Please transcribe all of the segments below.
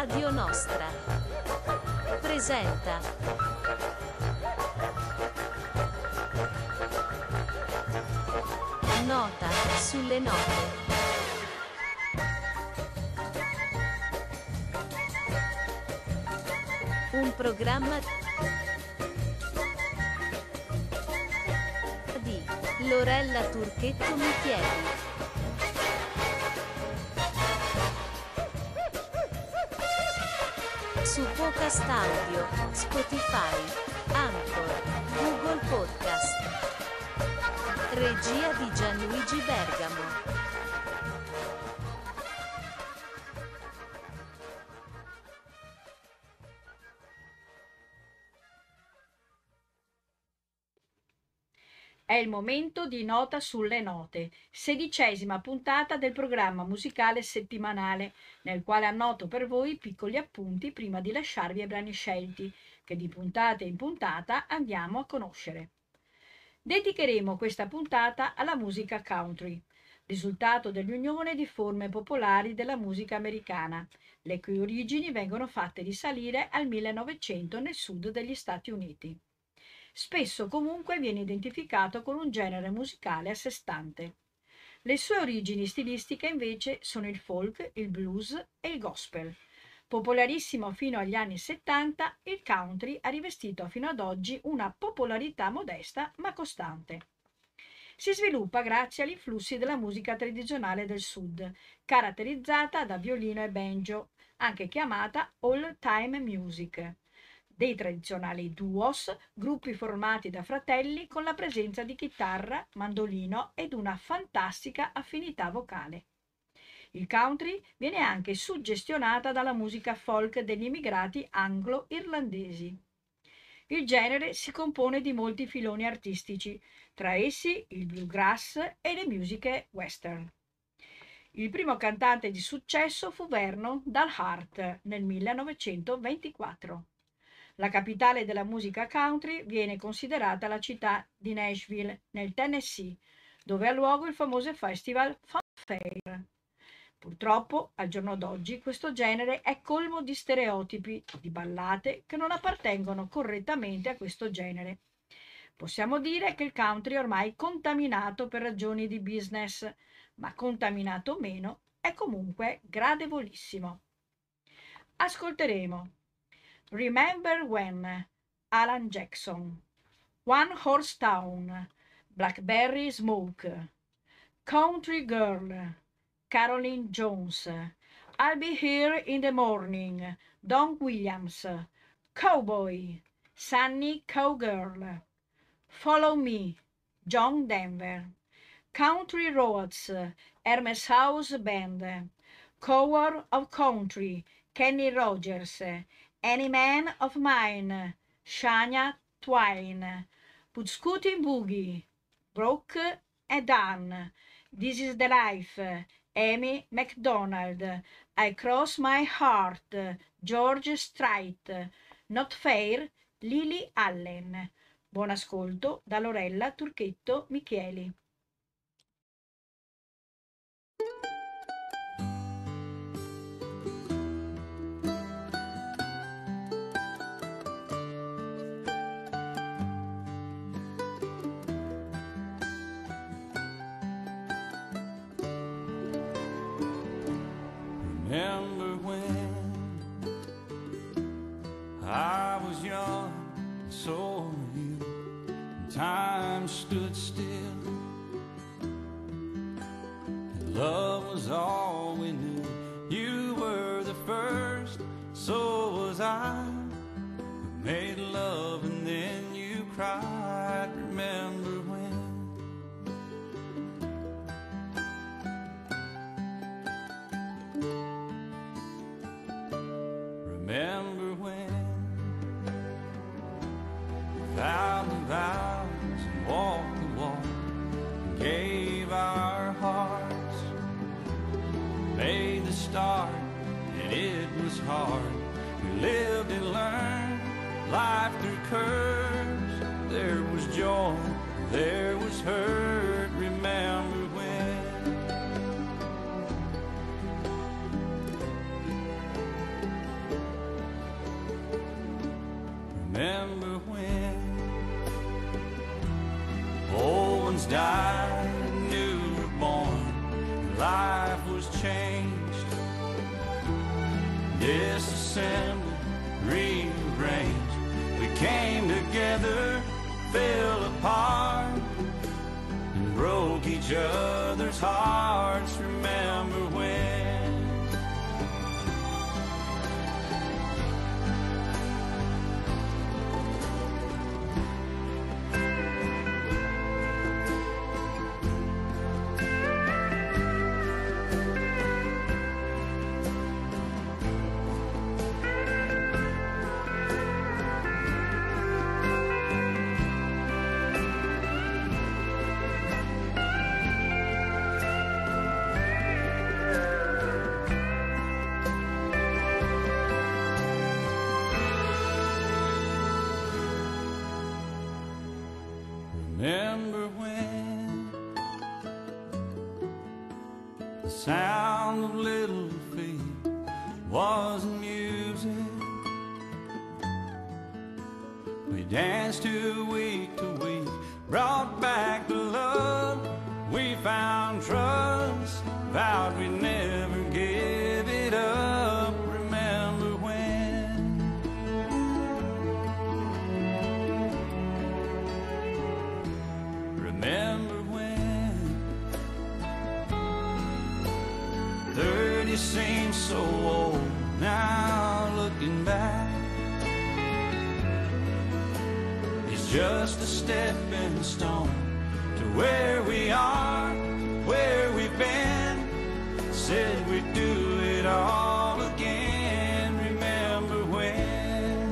Radio Nostra presenta Nota sulle note. Un programma di Lorella Turchetto Michieli. Su Podcast Audio, Spotify, Anchor, Google Podcast. Regia di Gianluigi Bergamo. È il momento di Nota sulle note, 16ª puntata del programma musicale settimanale, nel quale annoto per voi piccoli appunti prima di lasciarvi ai brani scelti, che di puntata in puntata andiamo a conoscere. Dedicheremo questa puntata alla musica country, risultato dell'unione di forme popolari della musica americana, le cui origini vengono fatte risalire al 1900 nel sud degli Stati Uniti. Spesso comunque viene identificato con un genere musicale a sé stante. Le sue origini stilistiche invece sono il folk, il blues e il gospel. Popolarissimo fino agli anni 70, il country ha rivestito fino ad oggi una popolarità modesta ma costante. Si sviluppa grazie agli influssi della musica tradizionale del sud, caratterizzata da violino e banjo, anche chiamata old-time music, dei tradizionali duos, gruppi formati da fratelli con la presenza di chitarra, mandolino ed una fantastica affinità vocale. Il country viene anche suggestionata dalla musica folk degli immigrati anglo-irlandesi. Il genere si compone di molti filoni artistici, tra essi il bluegrass e le musiche western. Il primo cantante di successo fu Vernon Dal Hart nel 1924. La capitale della musica country viene considerata la città di Nashville, nel Tennessee, dove ha luogo il famoso festival Fun Fair. Purtroppo, al giorno d'oggi, questo genere è colmo di stereotipi, di ballate che non appartengono correttamente a questo genere. Possiamo dire che il country è ormai contaminato per ragioni di business, ma contaminato o meno, è comunque gradevolissimo. Ascolteremo Remember When, Alan Jackson, One Horse Town, Blackberry Smoke, Country Girl, Caroline Jones, I'll Be Here in the Morning, Don Williams, Cowboy, Sunny Cowgirl, Follow Me, John Denver, Country Roads, Hermes House Band, Cover of Country, Kenny Rogers, Any Man of Mine, Shania Twain, Put Scootin' Boogie, Brooke and Dan, This is the Life, Amy MacDonald, I Cross My Heart, George Strait, Not Fair, Lily Allen. Buon ascolto da Lorella Turchetto Michieli. Remember when I was young, and so were you, and time stood still, and love was all we knew. You were the first, so was I. We made love and then you cried. Remember when? Remember when we vowed the vows and walked the walk and gave our hearts, made the start and it was hard. We lived and learned life through curves. There was joy, there was hurt. Remember when? when old ones died, new were born, life was changed, disassembled, rearranged. We came together, fell apart, and broke each other's hearts. Remember when? Remember when the sound of little feet was music? We danced to week, brought back the love. We found trust, vowed we'd never give it up. Remember when? Remember when 30 seems so old now, looking back. It's just a stepping stone to where we are, where we've been. Said we'd do it all again. Remember when?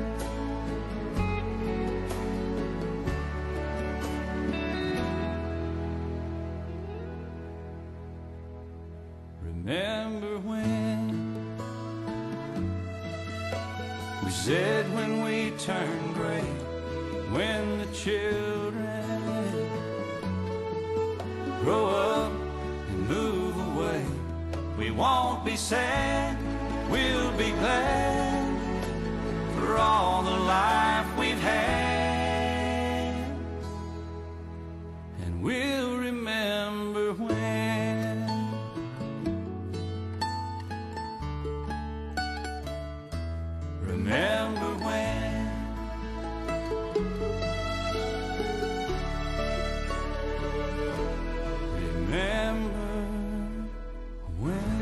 Remember when we said when we turn gray, when the children grow up and move away, we won't be sad, we'll be glad for all the life we've had, and we'll remember when. Remember when. Remember when.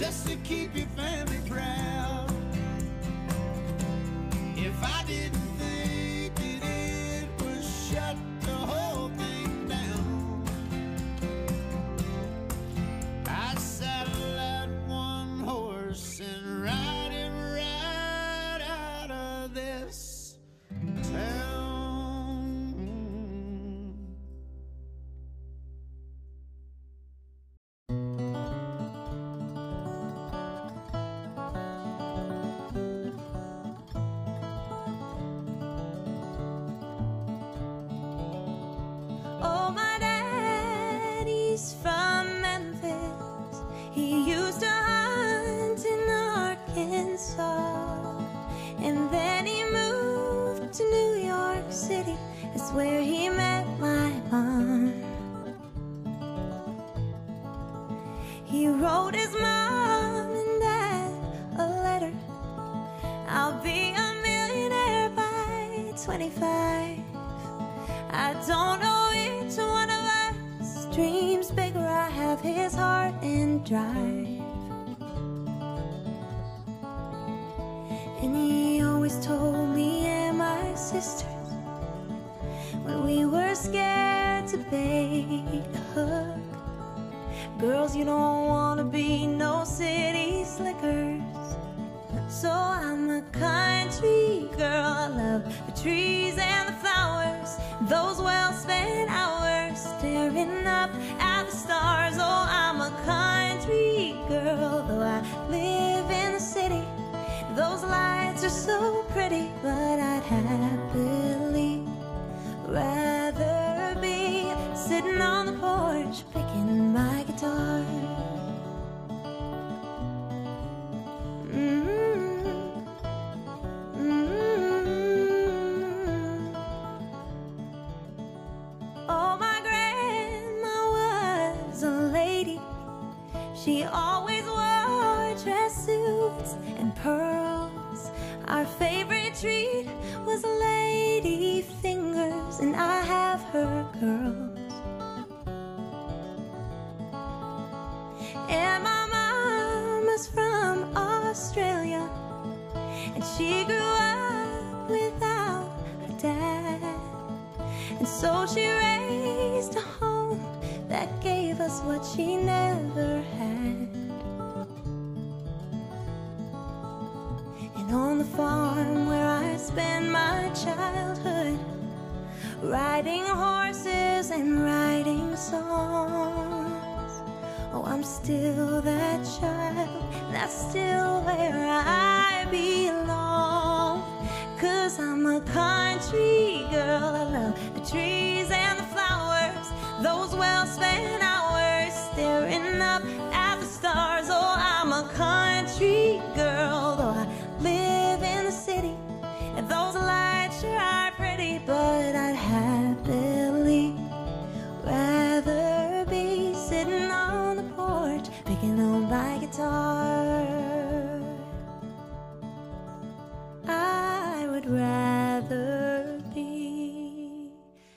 just to keep your family proud. If I didn't think that it would shut the whole thing down, I'd saddle that one horse and ride him right out of this town. Oh, my daddy's from Memphis. He used to hunt in Arkansas, and then he moved to New York City. That's where he met my mom. He wrote his mom and dad a letter. I'll be a millionaire by 25. I don't know which one of us dreams bigger. I have his heart and drive. And he always told me and my sisters, when we were scared to bait a hook, girls, you don't want to be no city slickers. So I'm a country girl. I love the trees and the flowers, those well-spent hours staring up at the stars. Oh, I'm a country girl, though I live in the city. Those lights are so pretty, but I'd happily rather be sitting on the porch picking my guitar. Oh, my grandma was a lady. She always wore dress suits and pearls. Our favorite treat was lady fingers, and I have her curls. And my mama's from Australia, and she grew up without a dad. And so she raised a home that gave us what she never had. And on the farm where I spent my childhood, riding horses and writing songs, oh, I'm still that child, that's still where I belong. 'Cause I'm a country girl. I love the trees and the flowers, those well-spent hours staring up at the stars. Oh, I'm a country girl, though I live in the city, and those lights sure are pretty, but I'd happily rather be sitting on the porch picking on my guitar. I would rather be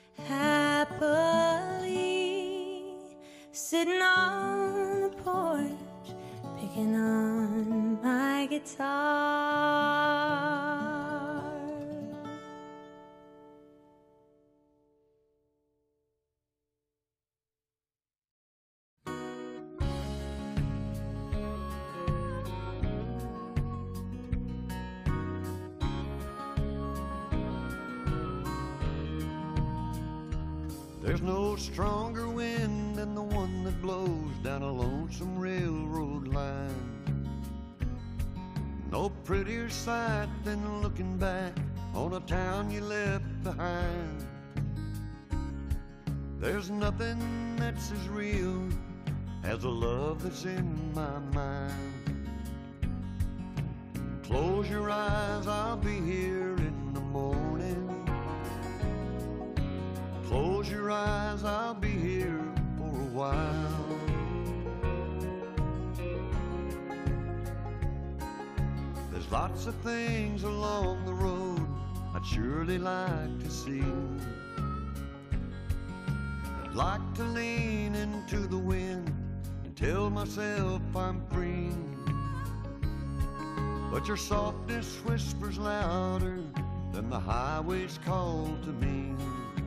happily sitting on the porch picking on my guitar. There's no stronger wind than the one that blows down a lonesome railroad line. No prettier sight than looking back on a town you left behind. There's nothing that's as real as the love that's in my mind. Close your eyes, I'll be here in the morning. Close your eyes, I'll be here for a while. There's lots of things along the road I'd surely like to see. I'd like to lean into the wind and tell myself I'm free. but your softness whispers louder than the highway's call to me.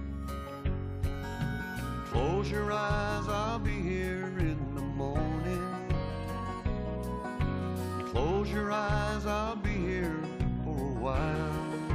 Close your eyes, I'll be here in the morning. Close your eyes, I'll be here for a while.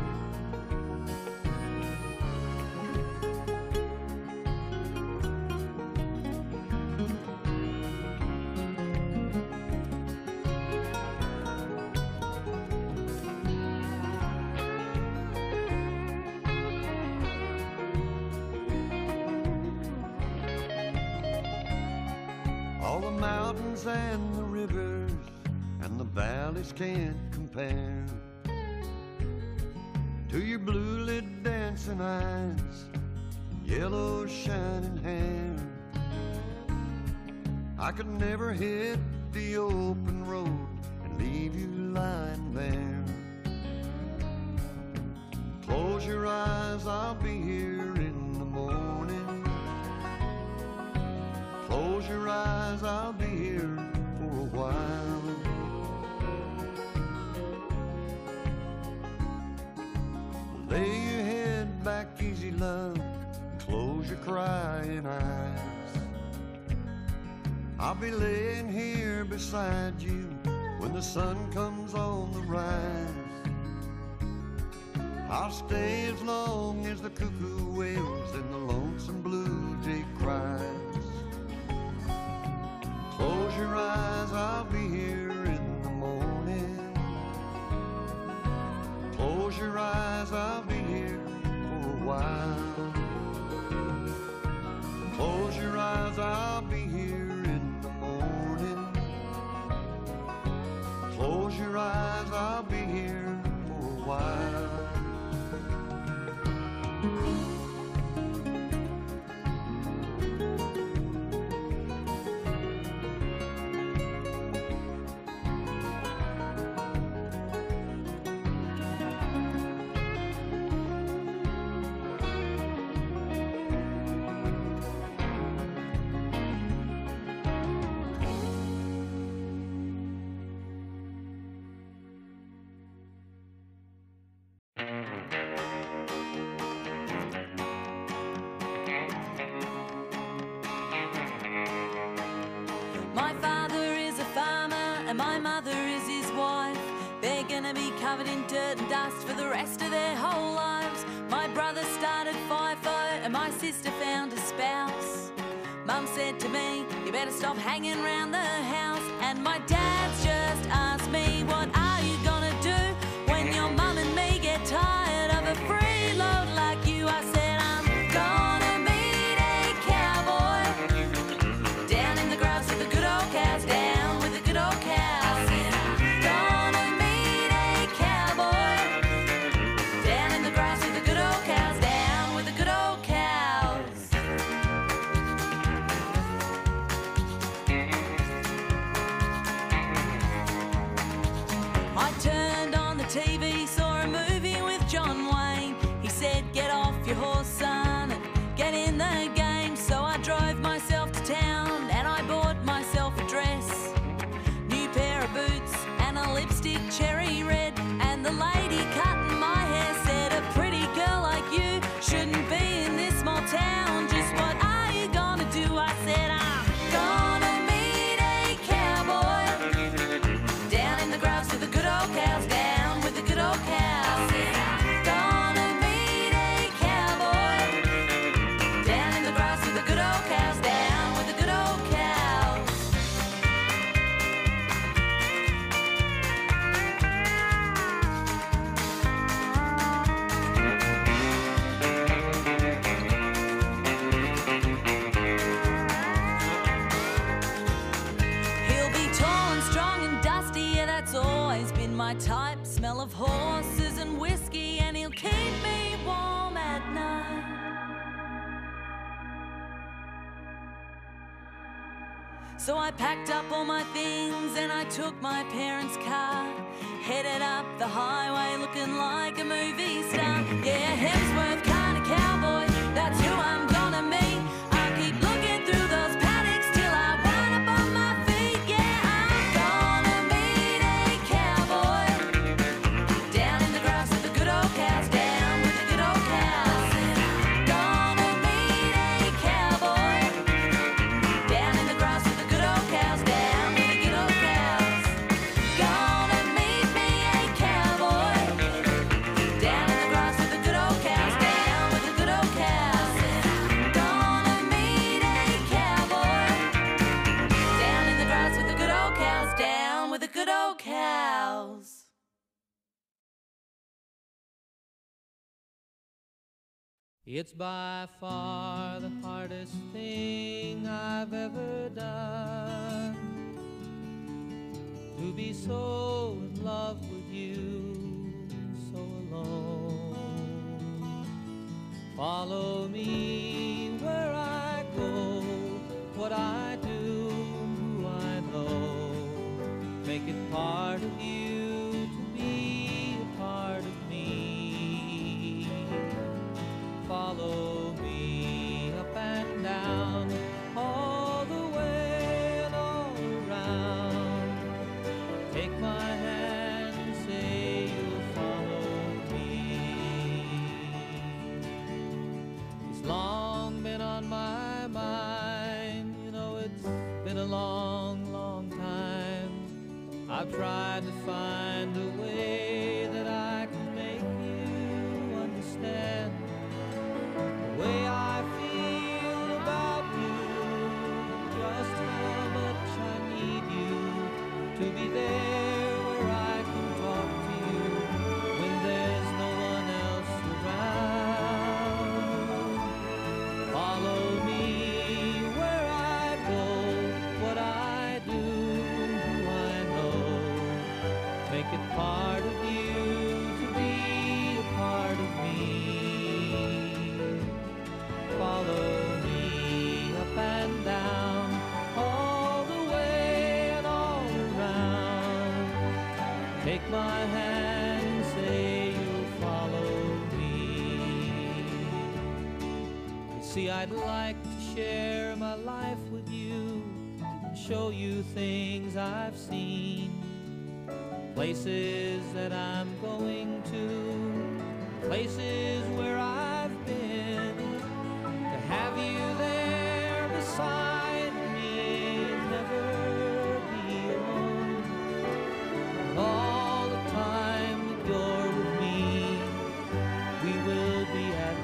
All the mountains and the rivers and the valleys can't compare to your blue-lit dancing eyes and yellow shining hair. I could never hit the open road and leave you lying there. Close your eyes, I'll be here in the morning. Close your eyes, I'll be here for a while. Lay your head back easy, love, and close your crying eyes. I'll be laying here beside you when the sun comes on the rise. I'll stay as long as the cuckoo wails and the lonesome blue jay cries. Close your eyes, I'll be here in the morning. Close your eyes, I'll be here for a while. Close your eyes, I'll be here in the morning. Close your eyes, I'll be here for a while. My father is a farmer and my mother is his wife. They're gonna be covered in dirt and dust for the rest of their whole lives. My brother started FIFO and my sister found a spouse. Mum said to me, you better stop hanging around the house. And my dad's just asked me, what are you gonna do when your mum and me get tired of a freeload like you? I said, I'm gonna meet a cowboy down in the grass with the good old cows, down with the good old cows. I said, I'm gonna meet a cowboy down in the grass with the good old cows, down with the good old cows. I turned on the TV, saw a movie with John Wayne. He said, get off your horse, son, and get in the game. So I drove myself to town and I bought myself a dress, new pair of boots and a lipstick cherry red. And the lady cutting my hair said, a pretty girl like you shouldn't be in this small town. Just what are you gonna do? I said, I'm gonna meet a cowboy down in the grass with the good old cows, down with the good old cows. I said, I'm gonna meet a cowboy down in the grass with the good old cows, down with the good old cows. He'll be tall and strong and dusty, yeah, that's always been my type. Smell of horses and whiskey, and he'll keep me warm at night. So I packed up all my things and I took my parents' car, headed up the highway looking like a movie star. Yeah, Hemsworth kind of cowboy, that's who I'm gonna meet. I'll keep looking through those paddocks till I wind up on my feet. Yeah, I'm gonna meet a cowboy It's by far the hardest thing I've ever done, to be so in love with you, so alone. Follow me where I go, what I do, who I know. Make it part of you to be a part of me. Follow me up and down, all the way and all around. Take my hand and say you'll follow me. It's long been on my mind, you know it's been a long, long time. I've tried to find a way that I can make you understand the way I feel about you, just how much I need you to be there where I can talk to you when there's no one else around. Follow me where I go, what I do, who I know. Make it part of you to be a part of me. Follow me up and down, all the way and all around. Take my hand and say you'll follow me. You see, I'd like to share my life with you and show you things I've seen, places that I'm going to, places where I've been. To have you there beside me, never be alone. And all the time that you're with me, we will be at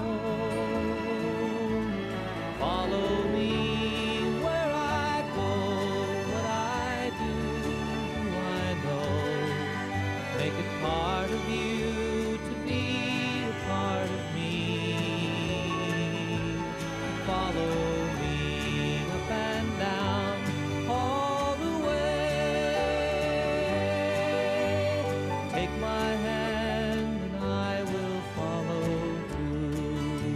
home. Follow me where I go, what I do, who I know. Make it part of you to be a part of me. Follow me up and down, all the way. Take my hand and I will follow too.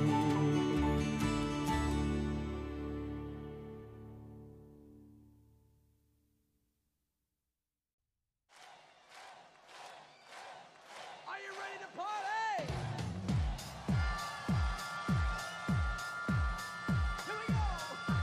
Are you ready to party? Here we go.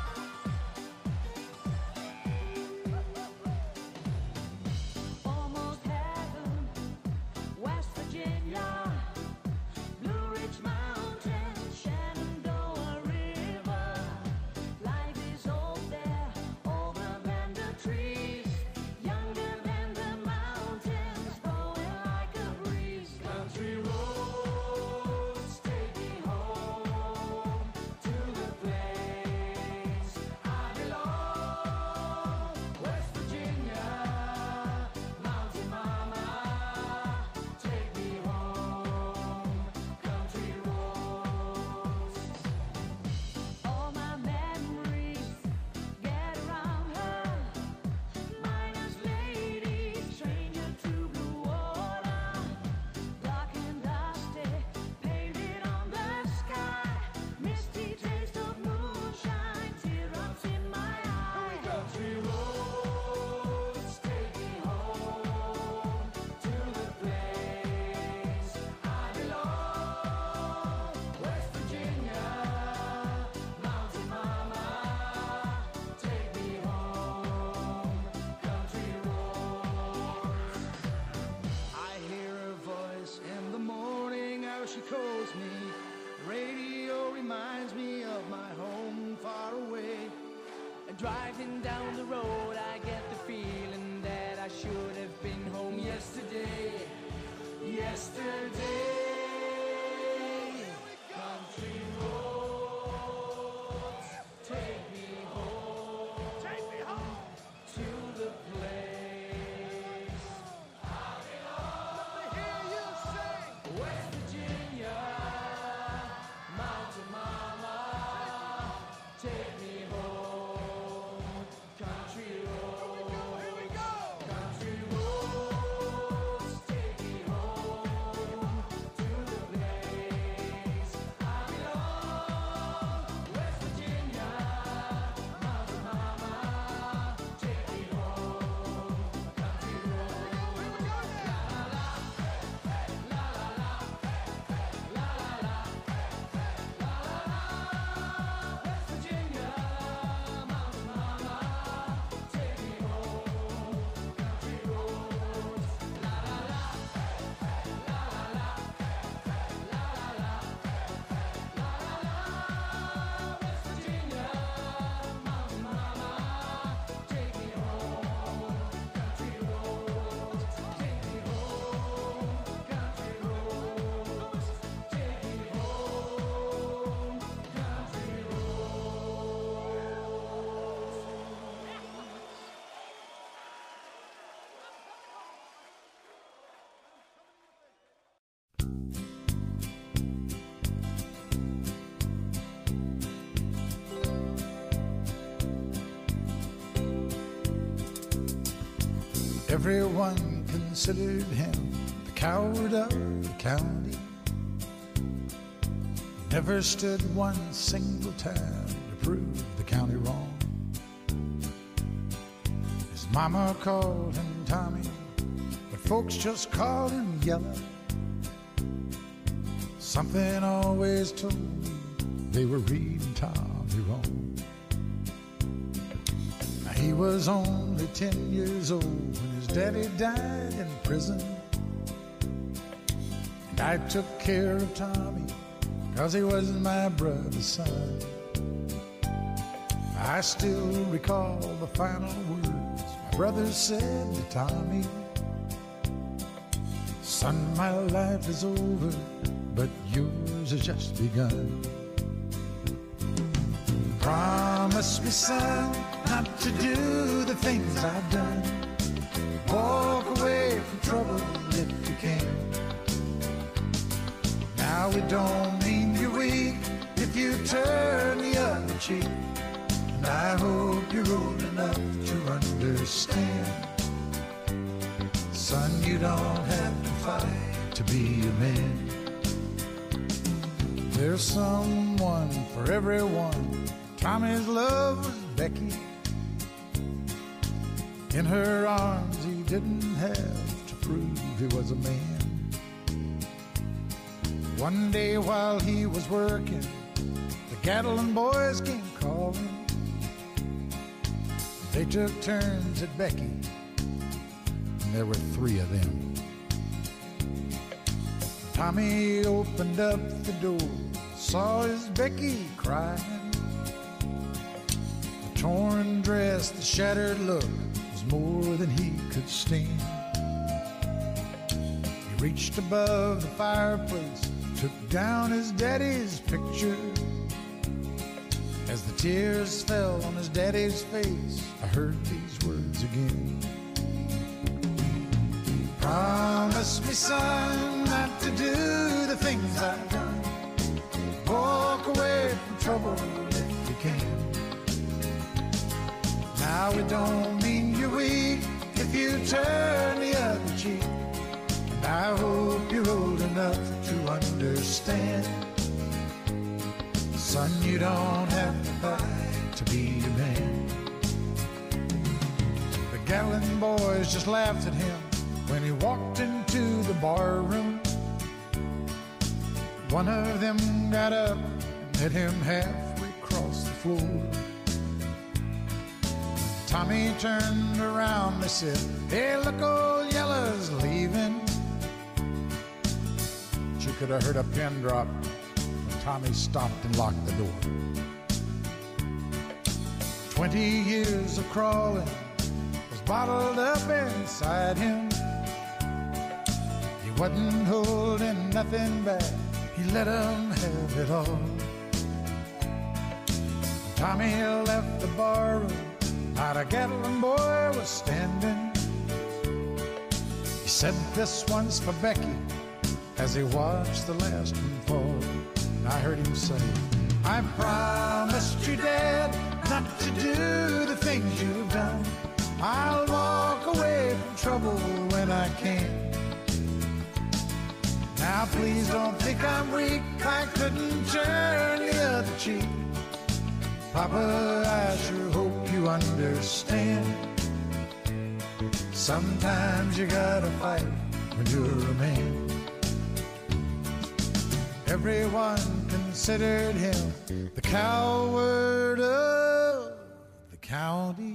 Almost heaven, West Virginia, Blue Ridge Mountains, Shenandoah River. Life is old there, older than the trees, younger than the mountains, blowing like a breeze. Country roads take me home to the place I belong. West Virginia, mountain mama, take me home. Country roads. All my memories get around her. Miner's lady, stranger to blue water. Dark and dusty, painted on the sky. Misty taste of moonshine, teardrops in my eye. Country roads take me home to the place I belong. West Virginia, mountain mama, take me home. Country roads. I hear her voice in the morning, how she calls me. Radio reminds me of my home far away. And driving down the road, I get the feeling that I should have been home yesterday. Yesterday. Country roads, take me home. Take me home to the place I belong. Let me hear you sing. West Virginia, Everyone considered him the coward of the county. Never stood one single time to prove the county wrong. His mama called him Tommy, but folks just called him Yellow. Something always told me they were reading Tommy wrong. Now, he was only 10 years old when his daddy died in prison. And I took care of Tommy 'cause he was my brother's son. I still recall the final words my brother said to Tommy. Son, my life is over, but yours has just begun. Promise me, son, not to do the things I've done. Walk away from trouble if you can. Now it don't mean you're weak if you turn the other cheek. And I hope you're old enough to understand. Son, you don't have to fight to be a man. There's someone for everyone. Tommy's love was Becky. In her arms he didn't have to prove he was a man. One day while he was working, the Gatlin boys came calling. They took turns at Becky, and there were 3 of them. Tommy opened up the door, saw his Becky crying. The torn dress, the shattered look was more than he could stand. He reached above the fireplace, took down his daddy's picture. As the tears fell on his daddy's face, I heard these words again. Promise me, son, not to do the things I've done. Walk away from trouble if you can. Now it don't mean you're weak if you turn the other cheek. And I hope you're old enough to understand. Son, you don't have to fight to be a man. The Gatlin boys just laughed at him when he walked into the bar room. One of them got up and met him halfway across the floor. Tommy turned around, they said, "Hey, look, old Yellow's leaving." She could have heard a pin drop when Tommy stopped and locked the door. 20 years of crawling was bottled up inside him. He wasn't holding nothing back, he let them have it all. Tommy left the barroom, not a Gatlin boy was standing. He said, "This one's for Becky," as he watched the last one fall. And I heard him say, "I promised you, Dad, not to do the things you've done. I'll walk away from trouble when I can. Now please don't think I'm weak, I couldn't turn the other cheek. Papa, I sure hope you understand. Sometimes you gotta fight when you're a man." Everyone considered him the coward of the county.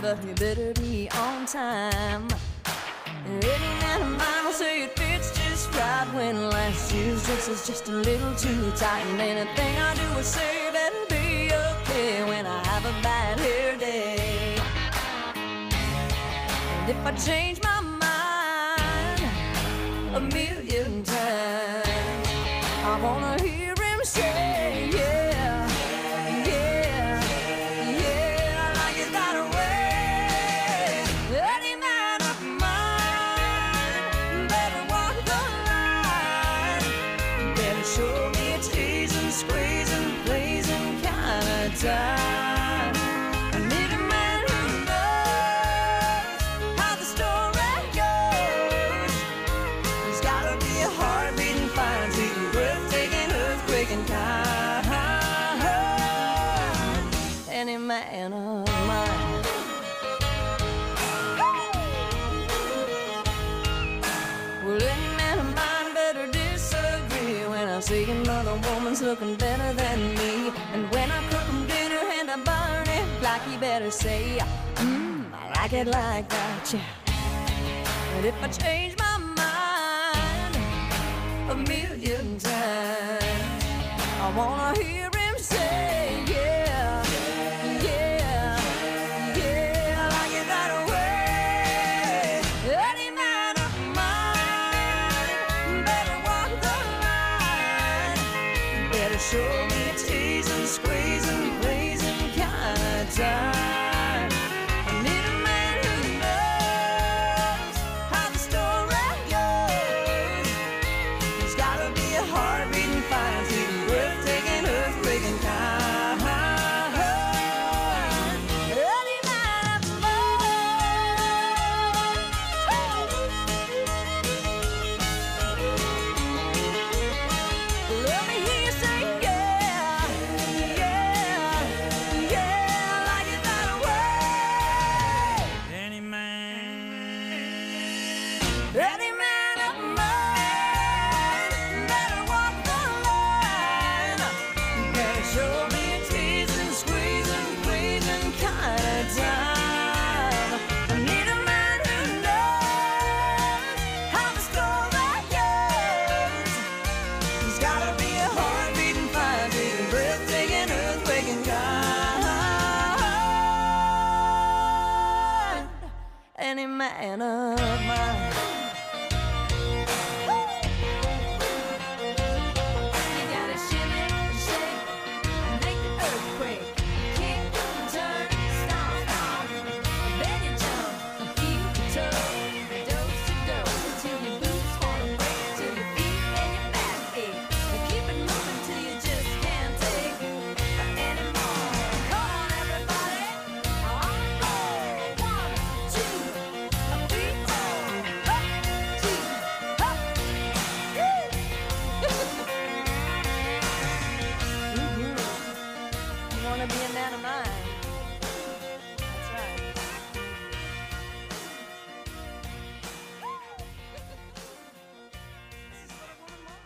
but you better be on time. Any man of mine will say it fits just right when last year's dress is just a little too tight. And anything I do or say better be okay when I have a bad hair day. And if I change my mind a million times, I wanna hear him say, yeah, yeah, yeah, I like it that way. Any man of mine better walk the line, better show me a teasing, squeezing, pleasing kind of time. I need a man who knows how the story goes. There's gotta be a heart beating fine, sweet, breathtaking, earthquaking kind. Any man of mine. Well, any man of mine better disagree when I see another woman's looking better than me. And when I cook him dinner and I burn it like, he better say, I like it like that, yeah. But if I change my mind a million times, I wanna hear him say, yeah, yeah, yeah, I like it that way. Any man of mine better walk the line, better show me a teasing, squeezing, pleasing kind of time. I need a man who knows how the story goes. There's gotta be a heart beating fine, sweet, breathtaking, earthquaking kind. Any man of mine. Let me hear you say, yeah, yeah, yeah, I like it that way. Any man. Any man of mine better walk the line, better show me a teasing, squeezing, pleasing kind of time. I need a man who knows how the story goes. There's gotta be a heart beating fine, beating, breathtaking, earthquaking kind. Any man of mine. You gotta shimmy, shake, and make the earthquake. Kick, turn, stomp, stomp. Then you jump, keep your toe. Dose to dose until your boots wanna break, till your feet and your back ache. But keep it moving till you just can't take anymore. Come on, everybody. On the floor. 1, 2, 3, 4. Up, 2, up. You wanna be a man of mine? That's right. This is what a woman wants.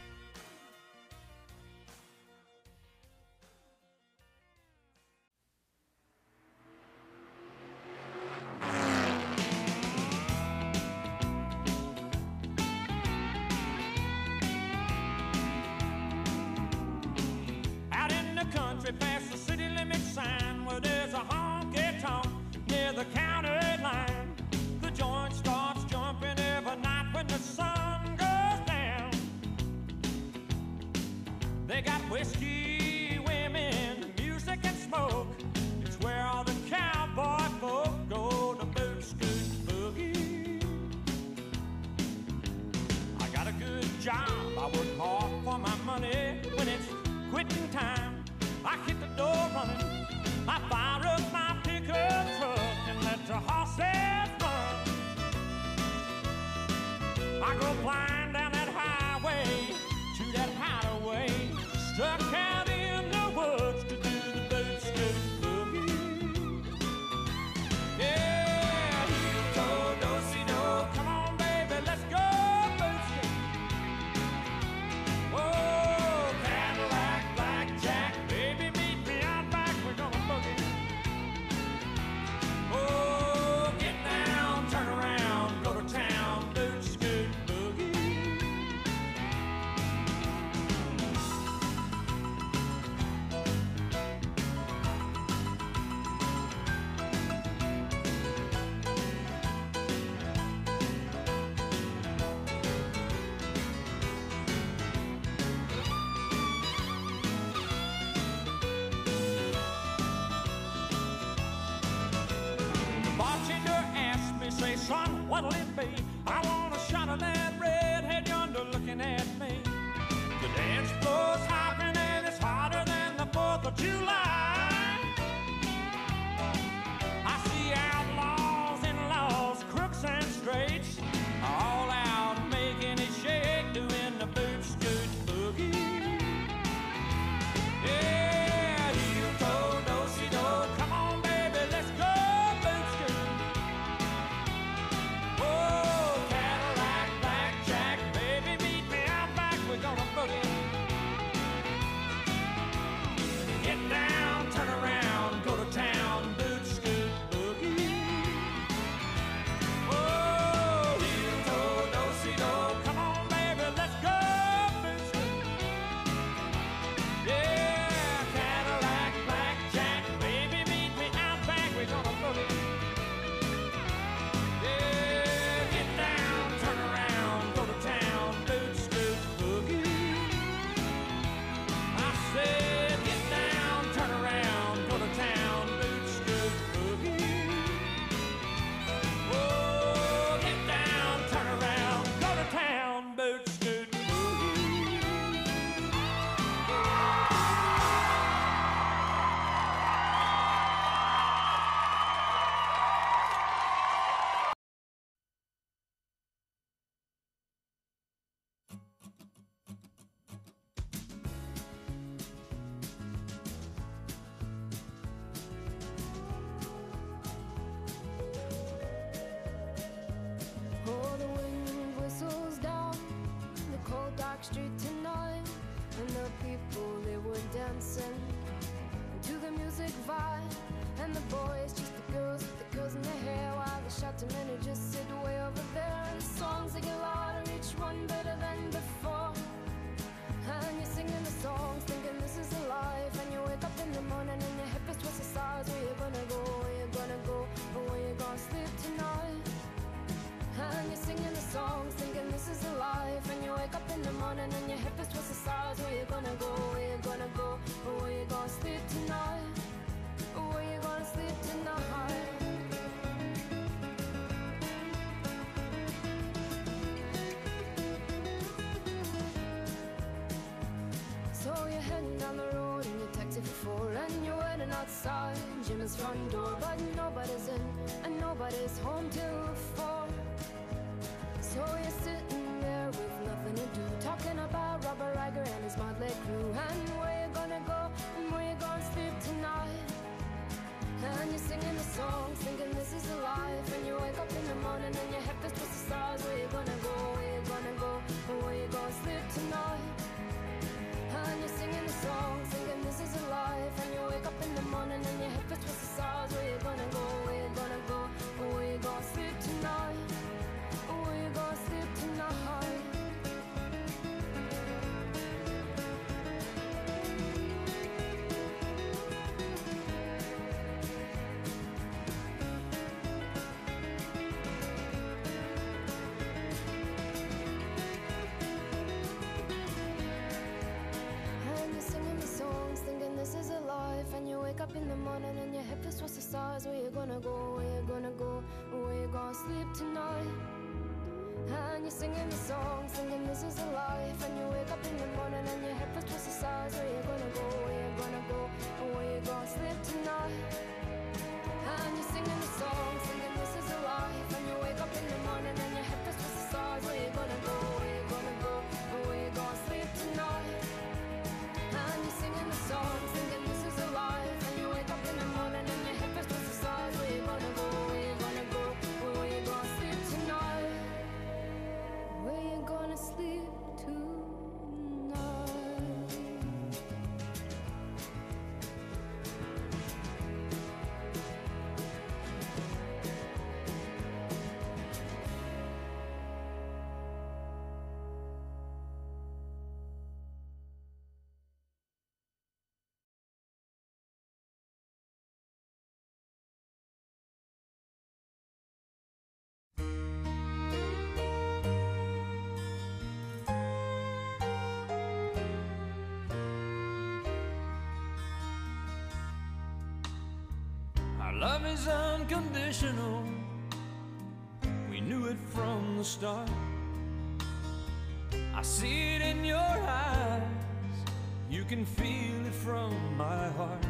Out in the country past the city limit sign where there's a honky-tonk near the county line. The joint starts jumping every night when the sun goes down. They got whiskey, women, music and smoke. It's where all the cowboy folk go to boot, scoot, boogie. I got a good job, I work hard for my money. When it's quitting time, I hit the door running. I fire up my pickup truck and let the horses run. I go flying down that highway to that hideaway, stuck out in the woods to do the boot scoot boogie. Yeah, heel toe, do-si-do, come on baby, let's go boot scoot. Oh, Cadillac, blackjack, baby meet me out back, we're gonna boogie. Oh, what'll it be? I want a shot of that redhead yonder looking at me. The dance floor's hopping and it's hotter than the 4th of July. I see outlaws and laws, crooks and straights, all out making it shake, doing the boot scoot boogie. Yeah, heel toe, do-si-do, come on baby, let's go boot scoot. Oh, Cadillac, blackjack, baby, meet me out back, we're gonna boogie. Get down, turn around, go to town, boot scoot boogie. Oh, heel toe, do-si-do, come on baby, let's go boot scoot. Yeah, Cadillac, blackjack, baby, meet me out back, we're gonna boogie. Yeah, get down, turn around, go to town, boot scoot boogie. I said, get down, turn around, go to town, boot scoot boogie. Oh, get down, turn around, go to town, boot scoot boogie. Oh, the wind whistles down the cold dark street tonight, and the people, they were dancing to the music vibe, and the boys just the girls with the curls in their hair, while the shouting men who just sit way over there, and the songs they get louder, each one better than before, and you're singing the songs thinking this is a life, and you wake up in the morning and your hip is twisted sides. Where you gonna go, where you gonna go, or where you gonna sleep tonight? And you're singing the songs, thinking this is a life, and you wake up in the morning and your hip is twisted sides. Where you gonna go, where you gonna go, or where you gonna sleep tonight? Or where you gonna sleep tonight? So you're heading down the road in your taxi for 4, and you're waiting outside Jimmy's front door, but nobody's in and nobody's home till 4. So you're sitting there with nothing to do, talking about Robert Riger and his motley crew, and where you gonna go and where you gonna sleep tonight. And you're singing the songs, thinking this is a life, and you wake up in the morning and your head is twisted stars. Where you gonna go, where you gonna go, or where you gonna sleep tonight. And you're singing the songs, thinking this is a life, and you wake up in the morning and your head is twisted stars. Where you gonna go, where you gonna go, or where you gonna sleep tonight. Or where you gonna sleep tonight. And you're singing the songs, thinking this is a life, and you wake up in the morning and your hip is twisted stars. Where you gonna go, where you gonna go, or where you gonna sleep tonight. And you're singing the songs, thinking this is a life, and you wake up in the morning and your hip is twisted stars. Where you gonna go, where you gonna go, or where you gonna sleep tonight. And you're singing the songs, thinking this is a life, and you wake up in the morning and your hip is twisted stars. Where you gonna go, where you gonna go, or where you gonna sleep tonight. And you're singing the songs, thinking this is a life, and you wake up in the morning and your hip is twisted stars. Where you gonna go, where you gonna go, or where you gonna sleep tonight. Where you gonna sleep tonight? Our love is unconditional. We knew it from the start. I see it in your eyes, you can feel it from my heart.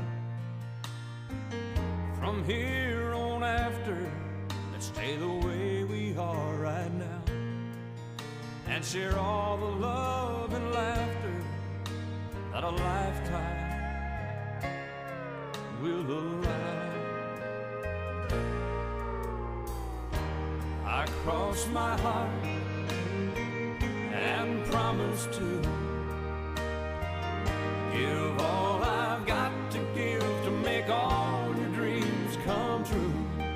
From here on after, let's stay the way we are right now, and share all the love and laughter that a lifetime will allow. I cross my heart and promise to give all I've got to give to make all your dreams come true.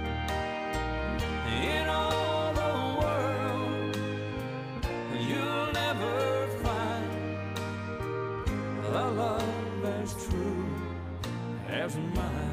In all the world, you'll never find a love as true as mine.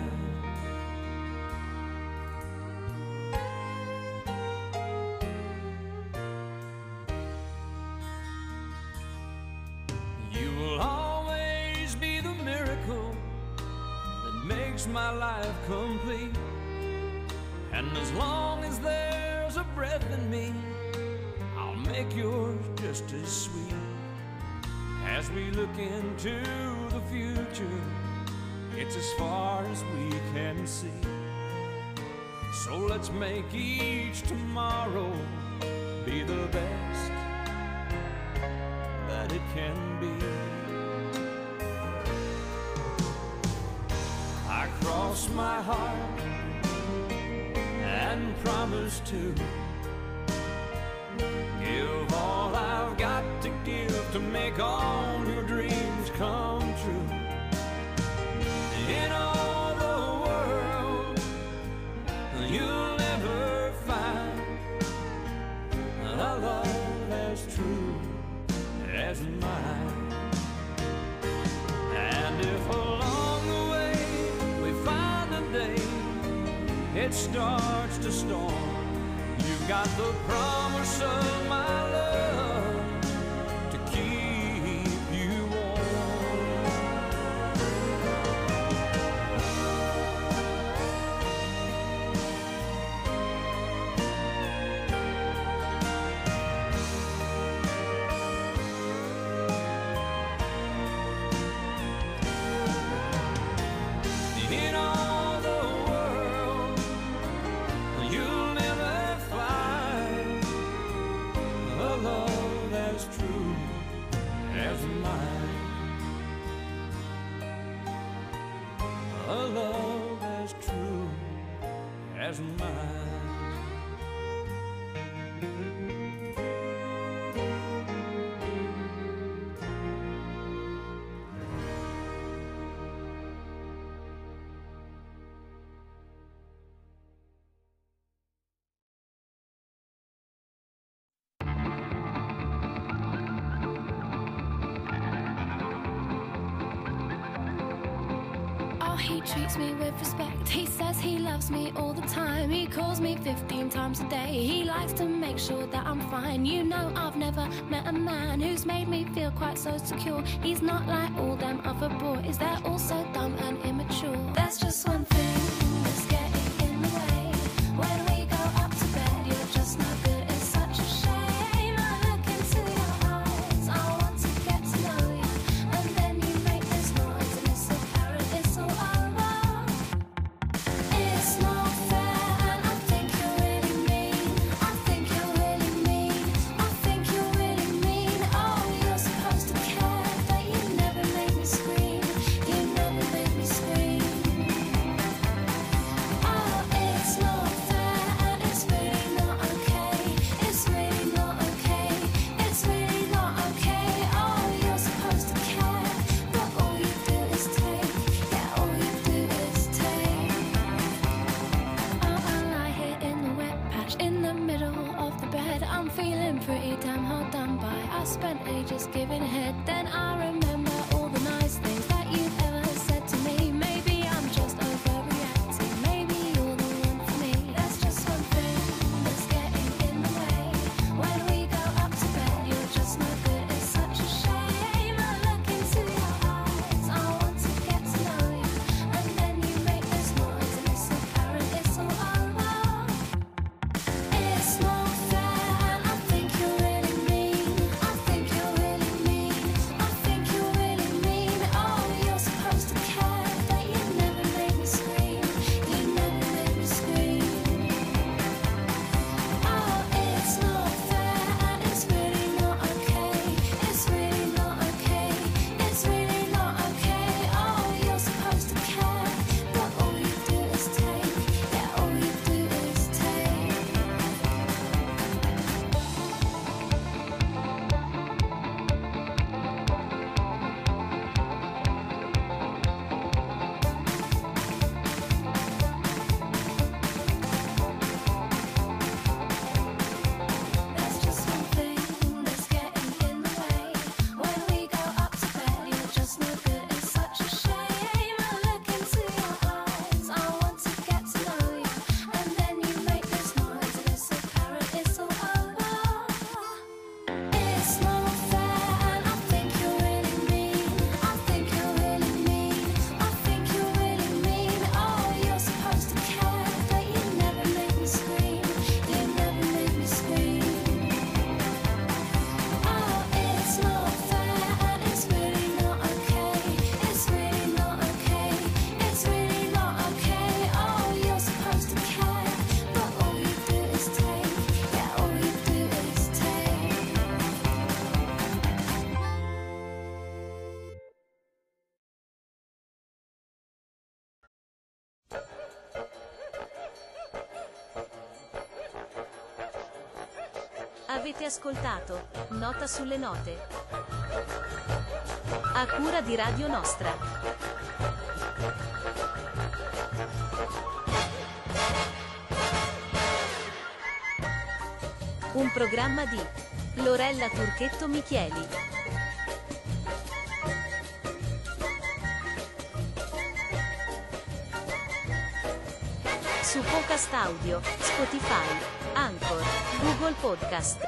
You will always be the miracle that makes my life complete. And as long as there's a breath in me, I'll make yours just as sweet. As we look into the future, it's as far as we can see. So let's make each tomorrow be the best that it can be. I cross my heart and promise to give all I've got to give to make all your dreams come true. In all the world, you'll never find a love as true as mine. And if along the way we find a day it starts to storm, you've got the promise of my love to keep you warm. In all the world, you'll never find a love as true as mine. A love as true as mine. Oh, he treats me with respect. He says he loves me all the time. He calls me 15 times a day. He likes to make sure that I'm fine. You know, I've never met a man who's made me feel quite so secure. He's not like all them other boys. They're all so dumb and immature. There's just one thing that's getting in the way. When we go up to bed, you're just no good. It's such a shame. I look into your eyes. I want to get to know you. And then you make this noise and it's apparent it's all over. It's not fair and I think you're really mean. I think you're really mean. I think you're really mean. Oh, you're supposed to care, but you never make me scream. You never make me scream. Oh, it's not fair and it's really not okay. It's really not okay. It's really not okay. Oh, you're supposed to care, but all you do is take. Yeah, all you do is take. Oh, I lie here in the wet patch in the middle of the bed. I'm feeling pretty damn hard done by. I spent ages giving head. Then I remember all the nice things that you've ever said to me. Maybe I'm just overreacting. Maybe you're the one for me. There's just one thing that's getting in the way. When we go up to bed, you're just no good. It's such a shame. I look into your eyes. I want to get to know you. And then you make this noise and it's apparent it's all over. It's not Avete ascoltato Nota sulle note, a cura di Radio Nostra. Un programma di Lorella Turchetto Michieli. Su Podcast Audio, Spotify, Anchor, Google Podcast.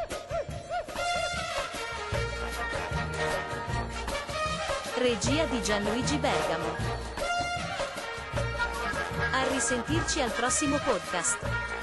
Regia di Gianluigi Bergamo. A risentirci al prossimo podcast.